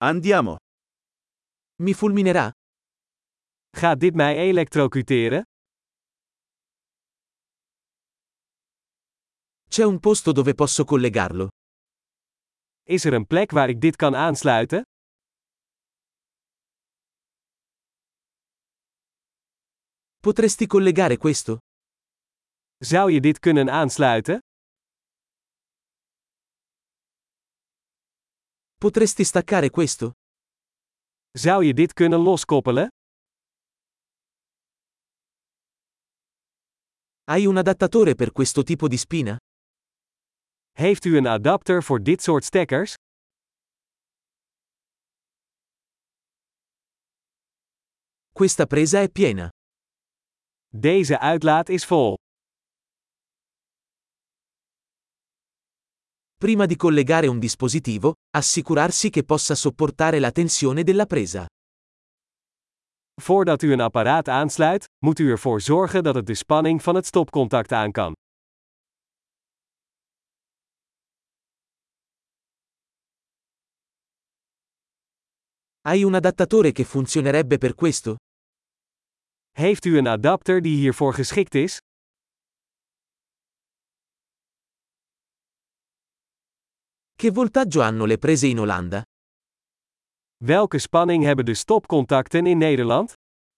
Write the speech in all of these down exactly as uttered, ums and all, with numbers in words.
Andiamo. Mi fulminerà? Gaat dit mij elektrocuteren? C'è un posto dove posso collegarlo? Is er een plek waar ik dit kan aansluiten? Potresti collegare questo? Zou je dit kunnen aansluiten? Potresti staccare questo? Zou je dit kunnen loskoppelen? Hai un adattatore per questo tipo di spina? Heeft u een adapter voor dit soort stekkers? Questa presa è piena. Deze uitlaat is vol. Prima di collegare un dispositivo, assicurarsi che possa sopportare la tensione della presa. Voordat u een apparaat aansluit, moet u ervoor zorgen dat het de spanning van het stopcontact aan kan. Hai un adattatore che funzionerebbe per questo? Heeft u een adapter die hiervoor geschikt is? Che voltaggio hanno le prese in Olanda? Welke spanning hebben de stopcontacten in Nederland?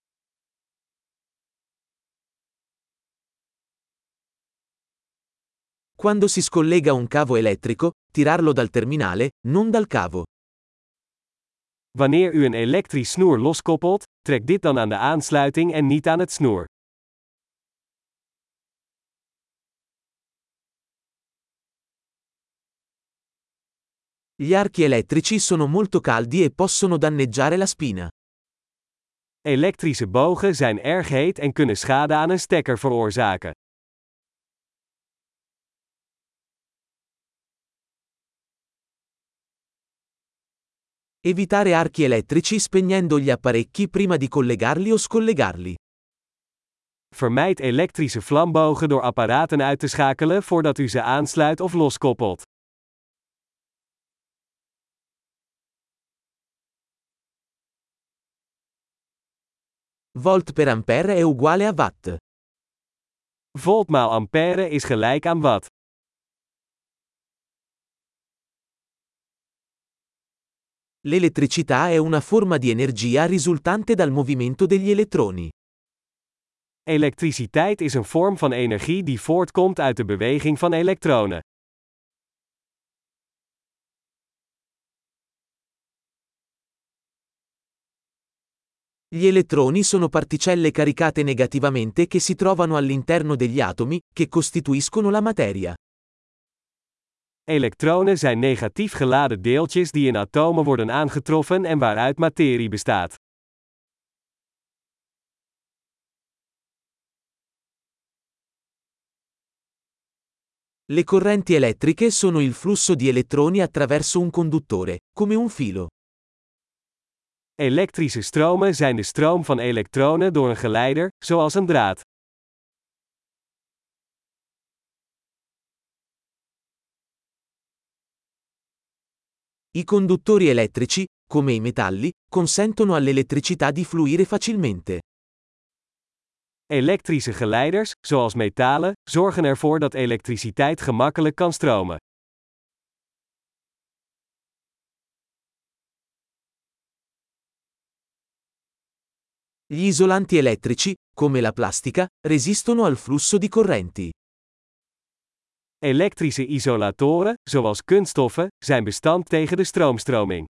Quando si scollega un cavo elettrico, tirarlo dal terminale, non dal cavo. Wanneer u een elektrisch snoer loskoppelt, trek dit dan aan de aansluiting en niet aan het snoer. Gli archi elettrici sono molto caldi e possono danneggiare la spina. Elektrische bogen zijn erg heet en kunnen schade aan een stekker veroorzaken. Evitare archi elettrici spegnendo gli apparecchi prima di collegarli o scollegarli. Vermijd elektrische vlambogen door apparaten uit te schakelen voordat u ze aansluit of loskoppelt. Volt per ampere è uguale a watt. Volt maal ampère is gelijk aan watt. L'elettricità è una forma di energia risultante dal movimento degli elettroni. Elektriciteit is een vorm van energie die voortkomt uit de beweging van elektronen. Gli elettroni sono particelle caricate negativamente che si trovano all'interno degli atomi, che costituiscono la materia. Elektronen zijn negatief geladen deeltjes die in atomen worden aangetroffen en waaruit materie bestaat. Le correnti elettriche sono il flusso di elettroni attraverso un conduttore, come un filo. Elektrische stromen zijn de stroom van elektronen door een geleider, zoals een draad. I conduttori elettrici, come i metalli, consentono all'elettricità di fluire facilmente. Elektrische geleiders, zoals metalen, zorgen ervoor dat elektriciteit gemakkelijk kan stromen. Gli isolanti elettrici, come la plastica, resistono al flusso di correnti. Elektrische isolatoren, zoals kunststoffen, zijn bestand tegen de stroomstroming.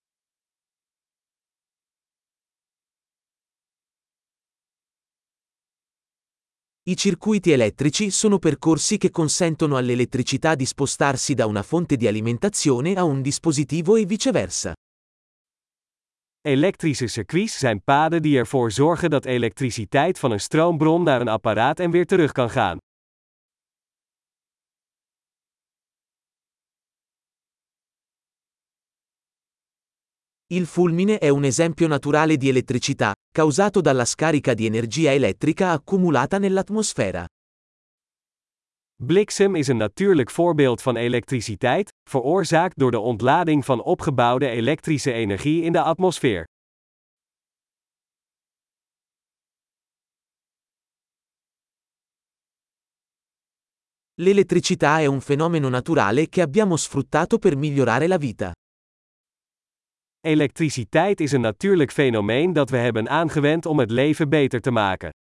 I circuiti elettrici sono percorsi che consentono all'elettricità di spostarsi da una fonte di alimentazione a un dispositivo e viceversa. Elektrische circuits zijn paden die ervoor zorgen dat elektriciteit van een stroombron naar een apparaat en weer terug kan gaan. Il fulmine è un esempio naturale di elettricità, causato dalla scarica di energia elettrica accumulata nell'atmosfera. Bliksem is een natuurlijk voorbeeld van elektriciteit, veroorzaakt door de ontlading van opgebouwde elektrische energie in de atmosfeer. L'elettricità è un fenomeno naturale che abbiamo sfruttato per migliorare la vita. Elektriciteit is een natuurlijk fenomeen dat we hebben aangewend om het leven beter te maken.